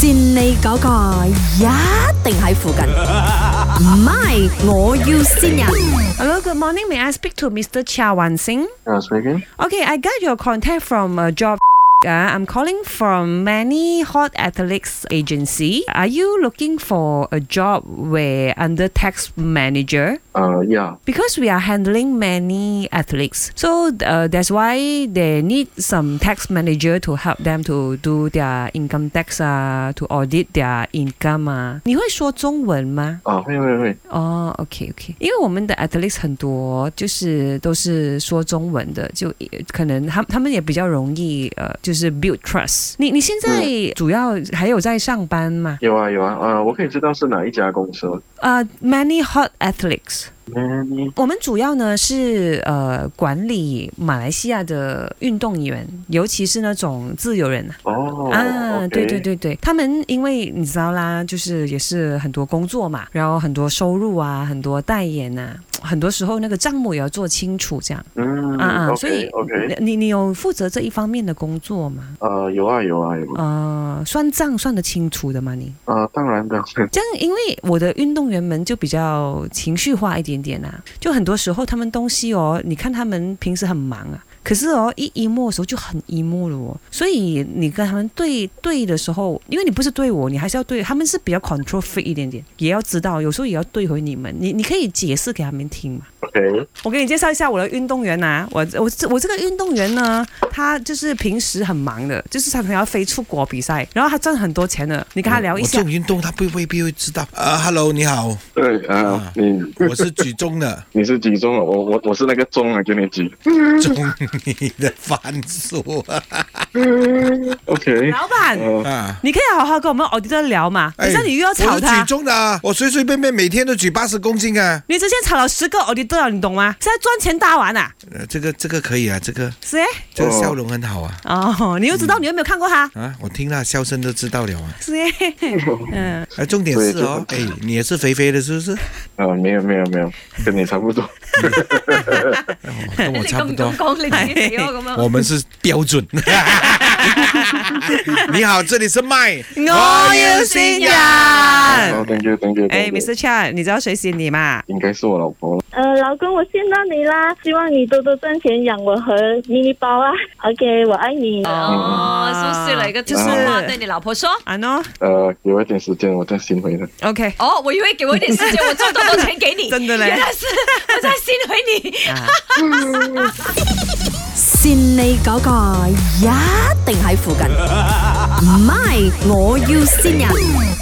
跣你嗰個一定喺附近，唔係我要跣人。 Hello, good morning. May I speak to Mr. Chia Wan Sing? Speaking. Okay, I got your contact from a job. I'm calling from Many Hot Athletics Agency. Are you looking for a job where under tax manager? Yeah. Because we are handling many athletes, so that's why they need some tax manager to help them to do their income tax to audit their income 你会说中文吗？ 会。 哦 ，OK， 因为我们的 athletes 很多，就是都是说中文的，就可能他们也比较容易就是 build trust。你现在主要还有在上班吗？ 有啊，我可以知道是哪一家公司吗 ？Many Hot Athletics。我们主要呢是管理马来西亚的运动员，尤其是那种自由人对，他们因为你知道啦，就是也是很多工作嘛，然后很多收入啊，很多代言啊，很多时候那个账目也要做清楚这样。所以你有负责这一方面的工作吗？ 有啊。 算账算得清楚的吗你？ 当然的。 这样，因为我的运动员们就比较情绪化一点点啊，就很多时候他们东西你看他们平时很忙啊，可是一emo的时候就很emo了所以你跟他们对的时候，因为你不是对我，你还是要对他们，是比较 control freak 一点点，也要知道有时候也要对回你们，你可以解释给他们听嘛。 OK， 我给你介绍一下我的运动员啊，我这个运动员呢，他就是平时很忙的，就是常常要飞出国比赛，然后他赚很多钱的，你跟他聊一下。 我这种运动他未必会知道。Hello， 你好。 对我是举重的。 你是举重的，我是那个重给你举。 重你的番薯 OK， 老板你可以好好跟我们 auditor 聊嘛，等下你又要吵他。 我是举重的我随随便便每天都举80公斤啊。 你之前吵了10个 auditor 你懂吗？现在赚钱大玩啊。 这个可以啊，这个是这个笑容很好啊。 你又知道你有没有看过他我听他笑声都知道了啊。 是重点是你也是肥肥的是不是？ 没有，跟你差不多。 跟我差不多。 我们是标准。你好，这里是麦， 我要跣人。 Thank you。 Mr. Chia， 你知道谁跣你吗？ 应该是我老婆。 老公，我跣到你啦！希望你多多赚钱养我和妮妮包啊。OK， 我爱你。 苏轼了一个就是话对你老婆说。 给我一点時間，我再跣回他。 OK。 我以為給我一點時間，我賺多錢給你。 真的嘞。 原來是我再跣回你。 跣你嗰個一定喺附近，唔係我要跣人。